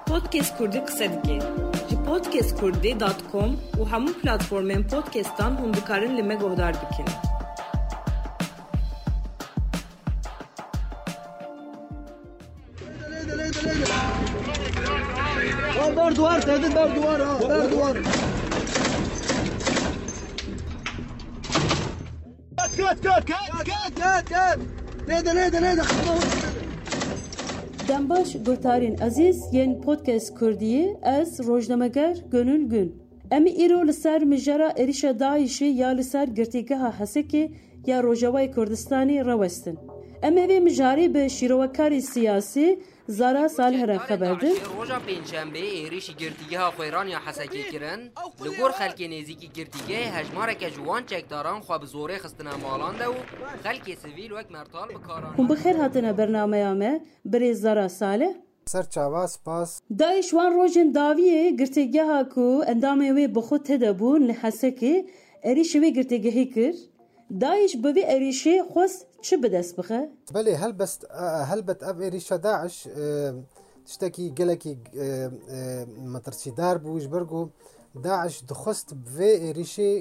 Podcast Kurdi qise dike. Ji podcastkurdi.com û hemû platformên podcastan hûn dikarin li me guhdar bikin. ber duvar tedin ber duvar ha ber duvar. Kat. Neydi Dembaş guhtarên ezîz yên podcast Kurdiyê ez rojnameger Gönül Gün. Em îro li ser mijara êrişa Daişê ya li ser girtîgeha Hesekê ya Rojavayê Kurdistanê rawestin. Em ê vê mijarê bi şîrovekarê siyasî Zara Salih re xeber din. Roja pênçembe êrişî girtîgeha Xweyraniya Hesekê kirin. Li gor xelkê nêzîkî girtîgehê hejmareke ji wan çekdaran xwe bi zorê xistina malan de û xelkê sivîl wek mertal bikaran. Hûn bi xêr hatine bernameya me birê Zara Salih. Serçava spas. Daeş wan rojên daviyê girtîgeha ku endamê wê bi xwe têde bûn li Hesekê êrişî wê girtîgehê kir. Daeş bi vê êrişê xwest çi bi dest bixe? Belê helbet ev êrişa Daeş tiştekî gelekî metirsîdar bû ji ber ku Daeş dixwest bi vê êrişê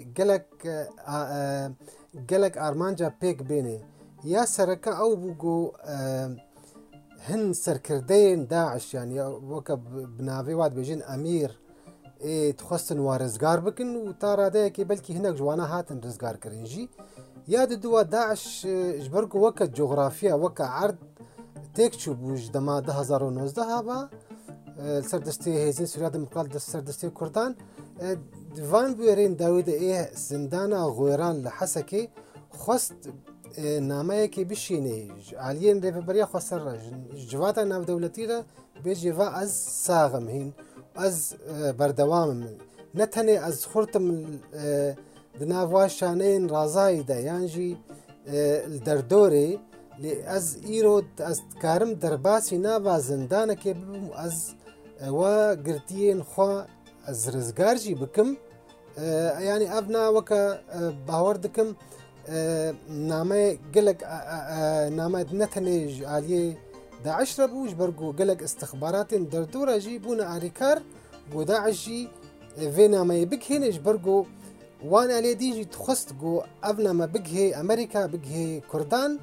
gelek armanca pêk bêne. Ya sereke ew bû ku hin serkirdeyên Daeş yani weke bi navê wat bêjin Emîr dixwestin wa rizgar bikin û ta radeyekê belkî hinek ji wana hatin rizgar kirin jî. Ya diduwa Daeş ji ber ku weke coğrafiya weke erd têk çûbû ji dema 2019 hava serdestê Hêzên Sûriya Demokratîk li serdestê Kurdan di van bûyerên dawî de ê zindana Xwêran li Hesekê xwest nameyekê bişîne aliyên rêveberiya xwe ser re ji civata navdewletî re bêje va ez saxim hîn ez berdewamim ne tenê ez xurtim di nav wa şaneyên razayî de yan jî li derdorê lê ez îro ez dikarim derbasî nava zindanekê bibim ez wa girtiyên xwe ez rizgar jî bikim yani ev na weke bawer dikim name gelek name ne tenê ji aliyê Daeş re bû ji ber ku gelek istixbaratên derdora jî bûne alîkar ku Daeş jî vê nameyê bigihêne ji ber ku wan alê dî jî dixwest ku ev name bigihê Amerîka bigihê Kurdan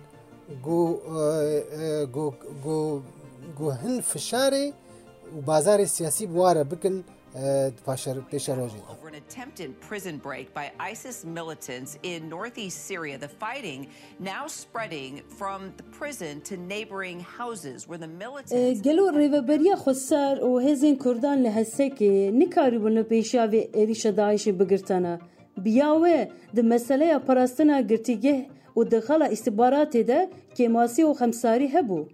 ku hin fişarê û bazarê siyasî bi ware bikin pêşa rojê. Over an attempted prison break by ISIS militants in northeast Syria, the fighting now spreading from the prison to neighboring houses where the militants... Gelo rêveberiya xweser û hêzên Kurdan li Hesekê nikarîbûn li pêşiya vê êrişa Daişê bigirtane. Biya we di meseleya parastina girtîgeh û dixala îstihbaratê de kêmasî û xemsarî hebû.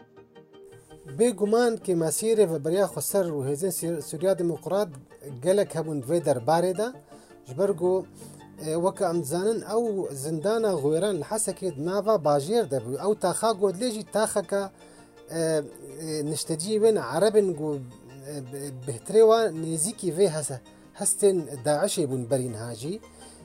Bêguman kêmasiyê rêveberiya xweser û Hêzên Sûriya Demokrat gelek hebûn vê derbarê de ji ber ku weke em dizanin ew zindana Xwêran li Hesekê di nava bajêr de bû ew taxa godlê jî taxeka nişteciyê wên erebin ku bihtirê wan nêzîkî vê hestên Daişê bûn berînha jî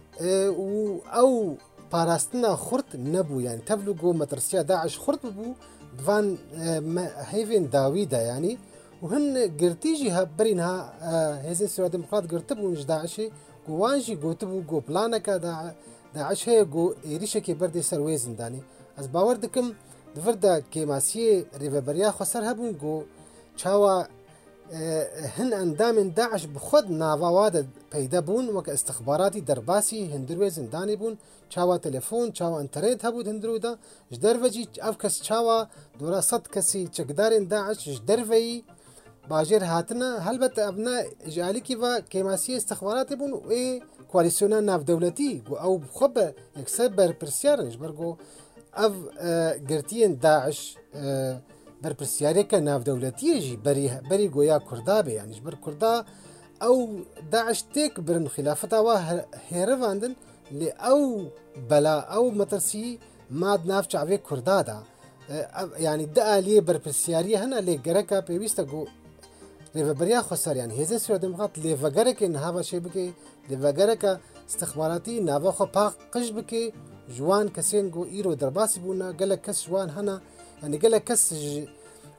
û ew parastina xurt nebû yani tevlû ku metirsiya Daeş xurt bibû van hêvên dawî de yani û hin girtî jî berînha Hêzên Sûriya Demokrat girtibûn ji Daişê ku wan jî gotibû ku planeka Daeş heye ku êrişekê berdê ser wê zindanê. Ez bawer dikim di vir de kêmasiyê rêveberiya xweser hebûn ku çawa hin endamên Daeş bi xwe nava wa de peyda bûn weke istixbaratî derbasî hindir wê zindanê bûn çawa telefon çawa internet hebû hindirû de ji derve jî ev kes çawa dora 100 kesî çekdarên Daeş ji derveyî bajêr hatine helbet ev ne ji alîkî ve kêmasiyê istixbaratê bûn ê koalîsyona navdewletî ku ew bi xwe be yekser berpirsiyarin ji ber ku ev girtiyên Daeş berpirsiyareke navdewletiyê jî berî goya Kurda be yani ji ber Kurda ew Daeş têk birin xilafeta wa hêrivandin lê ew bela ew metirsî mad nav çavê Kurda da yani di aliyê berpirsiyariye hene lê gereka pêwîst e ku rêveberiya xweser yani Hêzên Sûriya Demokrat lêvegerekê nihava çê bike lêvegereka istixbaratî nava xwe paqij bike ji wan kesên ku îro derbasî bûne gelek kes ji wan hene yani gelek kes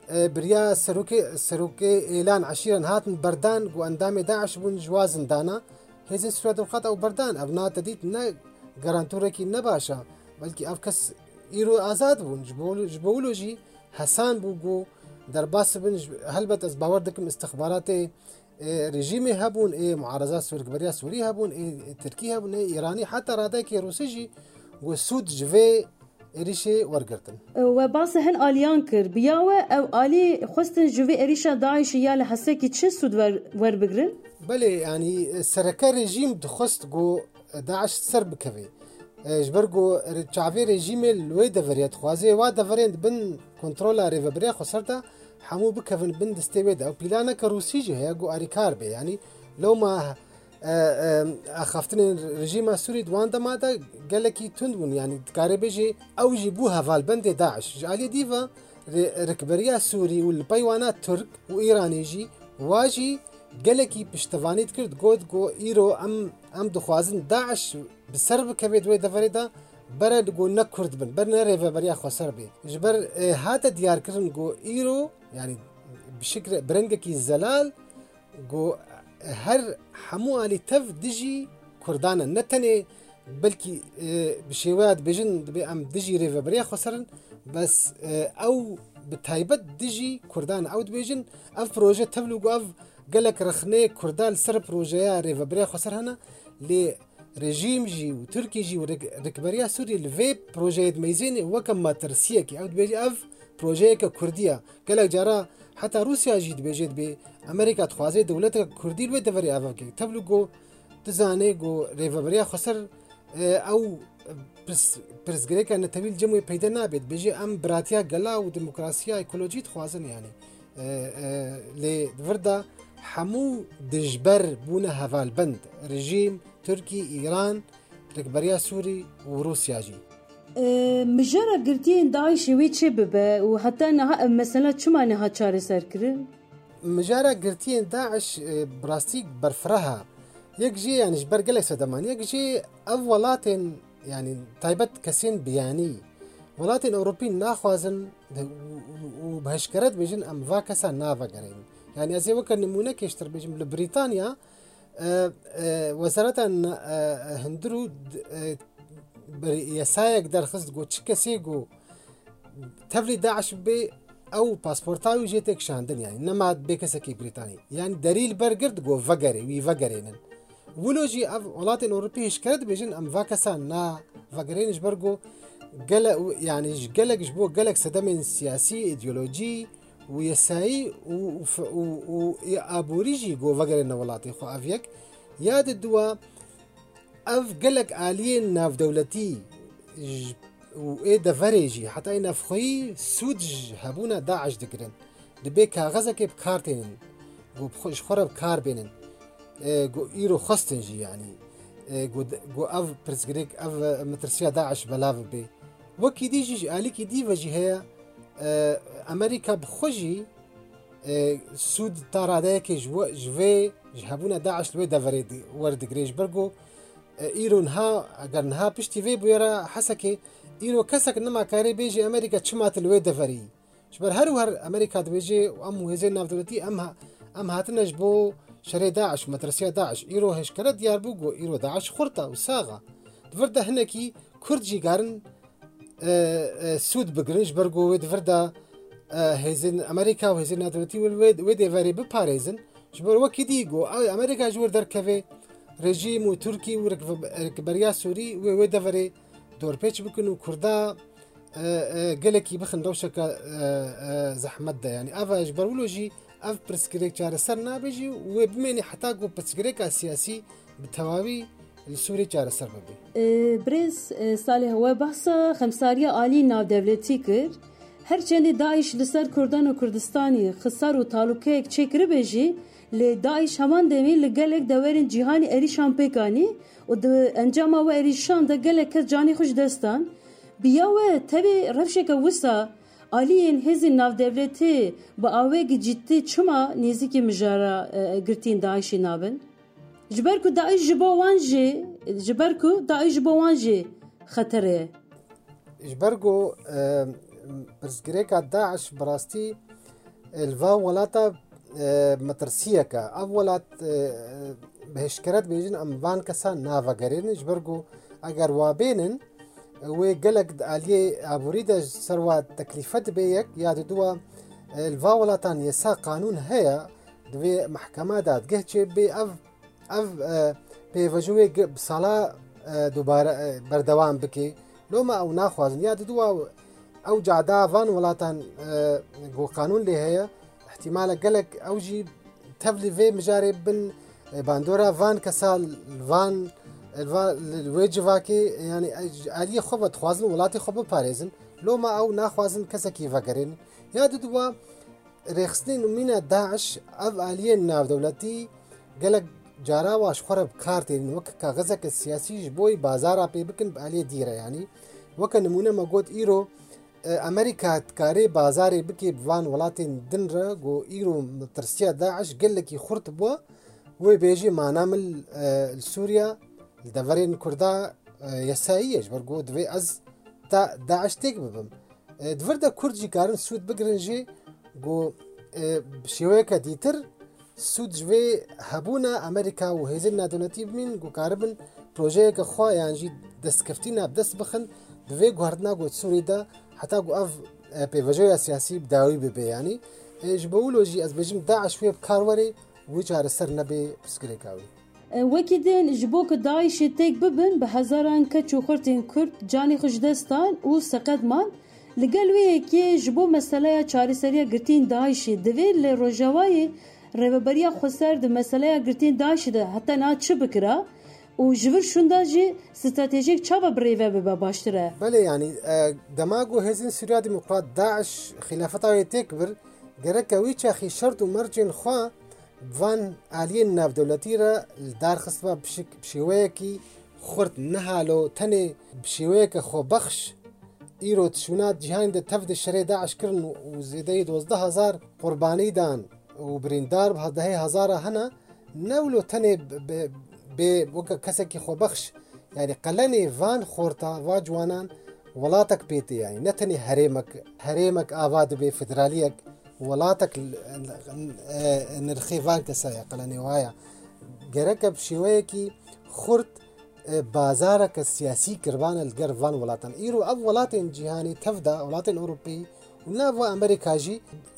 بريا سروكي إعلان عشيرا هاتن بردان وأندام داعش بون جوازن دانا هذه سورة الخطأ وبردان أبناء تديت نا جرانتوركي نباشا بلكي أفكس إيرو آزاد بون جبولوجي حسان بوجو درباس بن هلبت از باور دكم استخبارات رژیمی هبون معارضات سوريا سوري هبون تركي هبون إيراني حتى راداك روسيجي وسود جوي إريشة ورقرتن وباس هن آليان كر بياوه أو آلي خستن جوي إريشة داعش ياله حسكي تشي سود ور بقرن؟ بله يعني سركا رژیم دخست جو داعش سر بكفي جبرگو چاوی رژیم لوی دفریت خوازه و دفریند بن کنترل ریوبریا خسرتا حمو بكفن بن دستويد او بلانا كروسيجي هي جو اريكار بي يعني لو ما اخفتن رژیم سوري دوان دمادا قالكي تندون يعني تقاربجي او جيبوها فالبند داعش جالي ديفا ركبريا سوري والبيوانات ترك وايراني جي واجي قالكي بشتفانيت كرد جو ايرو ام دخوازن داعش بسرب كبيد وي دفريدا برد جو نكرد بن برنا ريفا بريا خسر بي جبر هاتا ديار كرن جو ايرو يعني بشكل برنجكي الزلال جو هر حمو علي تف دجي كردانا نتني بلكي بشيوات بجن بأم دجي ريفا بريا خسرن بس او بتايبت دجي كردانا او بيجن اف بروجي تفلو اف قالك رخني كردان سر بروجيا ريفا بريا خسر هنا ل رژیم جی و ترکی جی و رکبریا سوری لوی پروژه میزینی وکم ما ترسیه کی او بیجی اف پروژه که کردیه گلک جارا حتی روسیا جی بیجید به امریکا تخوازه دولت کردی لوی دوری اف کی تبلو گو تزانه گو ریوبریا خسر او پرسگریکا نتویل جمعی پیدا نابید بیجی ام براتیا گلا و دموکراسیا اکولوژی تخوازن یعنی لی وردا حمو دجبر بونه هفال بند رژیم تركي إيران ركبريا سوري وروسيا جي مجرى قرتين داعش ويتشي ببا وحتى انها مثلا شو معناها تشاري سركرين مجرى قرتين داعش براستيك برفرها يجي يعني جبر قلق سدمان يجي أولات يعني طيبت كسين بياني ولات أوروبيين ناخوازن وبهشكرت بيجن أم فاكسا نافا قرين يعني أزي وكان نمونة كيشتر بيجن لبريطانيا وزارة هندرو يسايق در خصد جو تشكسي جو تفلي داعش بي او باسبورتاوي جيتك شاندن يعني انما بيكسكي بريطاني يعني دليل برقرد جو فقري وي فقرينن ولوجي ولات الاوروبي اشكرت بيجن ام فاكسان نا فقرين جبرجو قلق يعني قلق جبو قلق سدمن سياسي ايديولوجي ويساي وابوريجي جو فقرين ولاتي خو افيك ياد الدوا اف قلق آليين ناف دولتي وايه دفريجي حتى اين افخي سودج هبونا داعش دقرن دبي كاغزك بكارتين جو بخش خرب كار بينن جو ايرو خستنجي يعني جو اف برسغريك اف مترسيا داعش بلاف بي وكي ديجي آلي كي دي وجي هي امريكا بخجي سود تاراداك جوي جهبونا داعش لوي دفريد ورد جريج برجو ايرون ها اگر نها پشتی وی بویرا حسکه ایرو کسک نما کاری بیجی امریکا چمات لوی دفری شبر هر امریکا دویجی و ام وزیر ناف دولتی ام هاتنش بو شری داعش مدرسه داعش ایرو هشکره دیار بوگو ایرو داعش خورتا و ساغا دفرده هنکی کردجی گارن سود بگرنج برگو وید فرده هزین امریکا و هزین ناف دولتی وید وری بپاريزن شبر وکی دیگو امریکا جور در کفه رژیم و ترکی و رکبریا سوری و دفری دور پیچ بکنو کردا گلکی بخن روشک زحمت ده يعني افا اجبرولوجي اف برسكريك چار سر نابجي و بمني حتى جو برسكريك سياسي بالتواوي السوري چار سر ببي بريز صالح هو بحث خمساريا آلي ناو دولتي كر هر چند داعش لسر كردان و كردستاني خسار و تعلقه چكر بيجي لداعش همان دمي لقلق دورين جهاني اريشان بيكاني و انجام و اريشان ده قلق كس جاني خوش دستان بياوه تبي رفشك وسا آليين هزي ناو دولتي بآوهي جدتي چما نيزيكي مجارة قرتين داعشي نابن جبركو داعش جبوانجي خطره جبركو برسكريكا داعش براستي الفا ولاتا مترسیەکە ئەو وڵات بەهشکرت بێژن ئەم وان کەسان ناڤەگەرێنن ji ber ku eger wabênin wê gelek di aliyê aborî de serwa teklîfe dibe yek ya diduwa li va welatan yesa qanûn heye divê mehkeme dadgeh çêbê ev pêvejûyê bi sala dubare berdewam bike loma ew naxwazin ya diduwa ew cada van welatan ku qanûn lê heye احتمال gelek ew jî tevlî vê mijarê bin bandora van kesa van wê civakê yani aliyê xwe ve dixwazin welatê xwe biparêzin loma ew naxwazin kesekî vegerênin ya diduwa rêxistinên mîna Daeş ev aliyên navdewletî gelek cara wa ji xwe re bi kar têrin wek kaxezeke siyasî ji bo bazara pê bikin bi aliyê dîre yanî weke nimûne me got îro Amerika karê bazarê bike bi van welatên din re got îro tirsiya Daeş gelekî xurt bûye wê bêjî manamil li Sûriya li deverên Kurda yesayî ye ji ber got divê ez Daeş têk bibim di vir de Kurd jî karin sûd bigirin jê got bi şêweyeke dîtir sûd ji vê hebûna Amerîka û hêzên nadewletî bimîn got karibin projeyeke xwe yan jî destkeftîna bi dest bixin di vê guhardina got Sûrî de heta got ev pêvejoya siyasî bi dawî bibe yanî ji bo wilo jî ez bêjim Daeş wê bi kar were wî çareser nebe pirsgirêka wî wekî din ji bo ku Daişê têk bibin bi hezaran keç û xurtên Kurd canê xwe ji dest dan û seqet man li gel wê yekê ji bo meseleya çareseriya girtiyên Daişê divê li Rojavayê rêveberiya xweser di meseleya girtiyên Daişê de heta na çi bikira û ji vir şunda jî stratejik çava bi rêve bibe baştir e belê yanî dema got hêzên Sûriya Demokrat Daeş xilafeta wê têk bir gereke wî çaxî şert û mercên xwe van aliyên navdewletî re li darxistiba bi şêweyekî xurt nihalo tenê bi şêweyeke xwebexş îro tişûna cîhanê de tev di şerê Daeş kirin û zêdeyî 12,000 qurbanî dan û birîndar bi dehê hezara hene ne wilo tenê bê weke kesekî xwebexş yani qelenê van xorta va ciwanan welatek pêtê yani ne tenê herêmek ava dibe federaliyek welatek nirxê van kesaya qelenê waya gereke bi şêweyekî xurt bazareke siyasî kirbane li ger van welatan îro ev welatên cîhanî tev da welatên Ewropî û nav Amerîka jî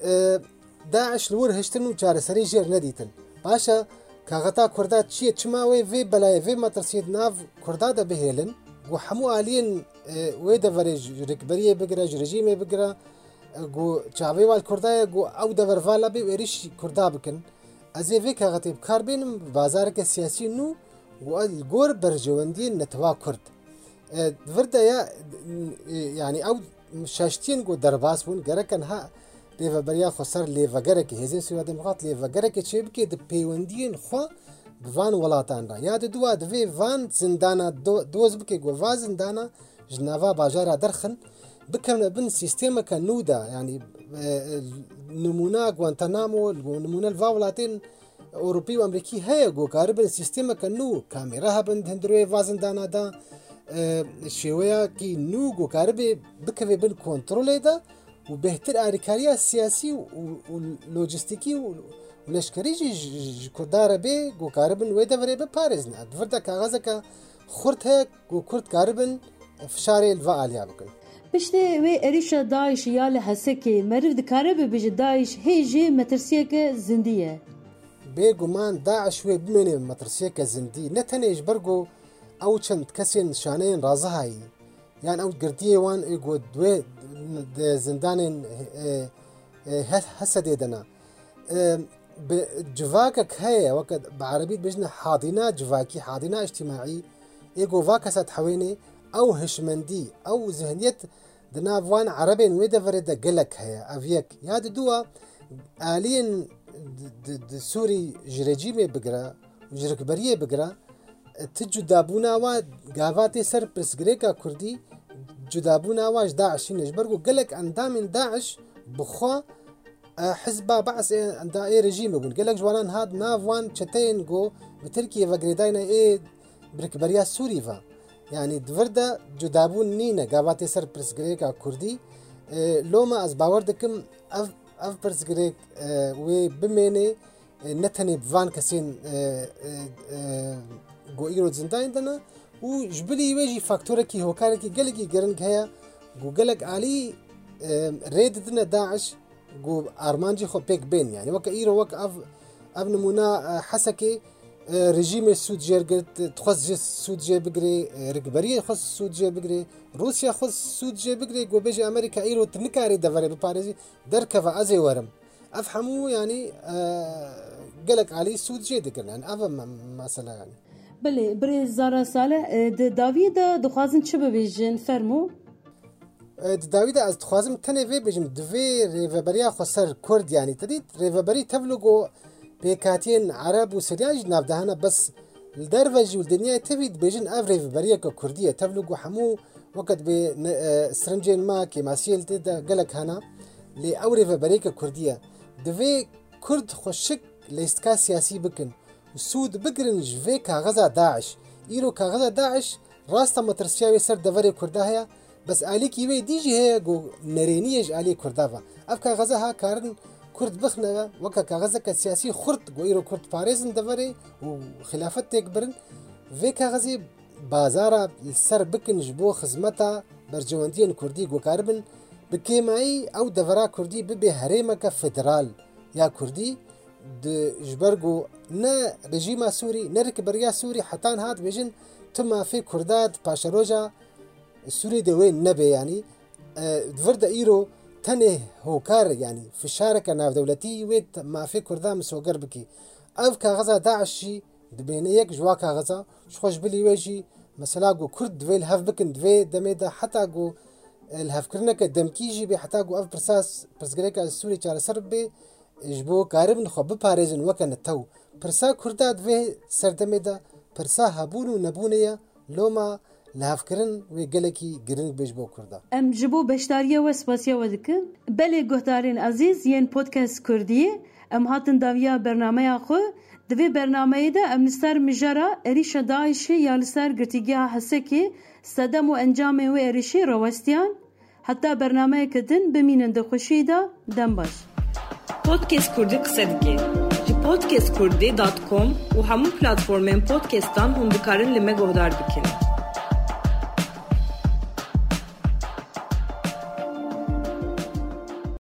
Daeş li wir hiştin û çareserî jêr nedîtin paşa kaxeta Kurda çi ye çima wê vê belayê vê metirsiyê nav Kurda de bihêlin û hemû aliyên wê deverê ji rêkberiyê bigire ji rejîmê bigire got çavê wal Kurdaya got ew devervala bê êrîş Kurda bikin ez ê vê kaxetê bi kar bênim bazareke siyasî nû got li gor berjewendiyên netwa Kurd di vir de ya yani ew şeştiyên got derbas bûn gereken ha pêveberiya xweser lêvegerekê hêzên Sûriya Demokrat lêvegerekê çêbike di pêwendiyên xwe bi van welatan de ya diduwa divê van zindana doz bike got va zindana ji nava bajara derxin bikevne bin sîstêmeke nû de yani nimûna Guantanamo nimûne li va welatên Ewropî û Amerîkî heye got karibin sîstêmeke nû kamêra hebin hindirwê va zindana da şêweyekî nû got karibê bikeve bin kontrolê de û bêhtir alîkariya siyasî û lojîstikî û leşkerî jî ji Kurda re bê got karibin wê deverê biparêzin di vir de kaxezeke xurt heye got Kurd karibin fişarê li va aliya bikin piştê wê êrişa Daişê ya li Hesekê meriv dikare bibêje Daeş hê jê metirsiyeke zindî ye bêguman Daeş wê bimêne metirsiyeke zindî ne tenê ji ber got ew çend kesên şaneyên razihayî yan ew girtiyê wan ê got wê di zindanên Hesedê de ne civakek heye weke bi erebî dibêjin hadîna civakî hadîna îctimacî ê got va kesa dihewêne ew hişmendî ew zihniyet di nav wan erebên wê deverê de gelek heye ev yek ya diduwa aliyên di Sûrî ji rejîmê bigire ji rêkberiyê bigire ti cudabûna wa gava tê ser pirsgirêka Kurdî cudabûna wa ji Daişî ne ji ber got gelek endamên Daeş bi xwe hizba Baes ê rejîmê bûn gelek ji wanan hat nav wan çeteyên got bi Tirkiye vegerêdayîne ê bi rêkberiya Sûrî ve yani di vir de cudabûn nîne gava tê ser pirsgirêka Kurdî loma ez bawer dikim اف پرسگریک و بمینه نتنی بوان کسین گو ایرو زندان دنا و جبلی ویجی فاکتوره کی هوکاره کی گلگی گرنگ هیا گو گلگ علی رید دنا داعش گو ارمانجی خو پیک بین يعني وك ايرو وك اف نمونا حسكي رژیم سود جرگرد تخص سود جه بگری رگبری خص سود جه بگری روسیا خص سود جه بگری گو بيجي امريكا ايرو تنكاري دفري بباريزي دركفا ازي ورم افهمو يعني قالك علي سود جه دقرن يعني افهم مثلا يعني بله بري زارا صالح داويد دخوازن چه ببيجن فرمو داويد از تخوازم تنه في بيجم دوي ريفبريا خسر كرد يعني تديت ريفبري تبلغو بيكاتين عرب وسرياج نابدهنا بس الدرفج والدنيا تفيد بيجن افريف بريك كرديه تبلغ حمو وقت بسرنجين ما كيماسيل تدا قالك هنا لي اوريف بريك كرديه دفي كرد خشك ليستكا سياسي بكن وسود بقرن جفي كاغزا داعش ايرو كاغزا داعش راستا مترسياوي سر دفري كرداها بس عليك يوي ديجي هي جو نرينيج علي كردافا افكا غزاها كارن كرد بخنا وكا كاغزك السياسي خرط غيرو كرد باريزن دفري وخلافت تكبرن في كاغزي بازارا السر بكن جبو خزمتا برجواندين كردي وكاربن بكيماي او دفرا كردي ببي هريمك فدرال يا كردي جبرغو نا رجيما سوري نركبريا سوري حتى هات بيجن تما في كردات باشروجا السوري دوين نبي يعني دفرد ايرو تنه هوكار يعني في الشاركة ناف دولتي ويت ما في كردام سوقر بكي اف كاغزا داعشي دبينيك جوا كاغزا شخوش بلي ويجي مثلا جو كرد دوي الهف بكن دوي دميدا حتى جو الهف كرنك دمكيجي بي حتى جو اف برساس برسغريكا السوري چار سربي جبو قاربن خو بباريزن وكن التو برسا كردا دوي سردميدا برسا هبونو نبونيا لوما لافكرن ويقلكي جرينج بيجبو كردا ام جبو بشتاريه وسباسيه ودكن بلي گهتارين عزيز ين بودكاست كرديه ام هاتن داويا برنامه خو دوی برنامه ده ام لسر مجرا اريشا داعش يا لسر گرتيگيها حسكي صدم و انجام و اريشي روستيان حتى برنامه كدن بمينن ده خوشي ده دم باش Podcast Kurdi kısa dike. Ji podcastkurdi.com و همون پلتفرمین پودکستان هم دکارن لمه گهدار بکن.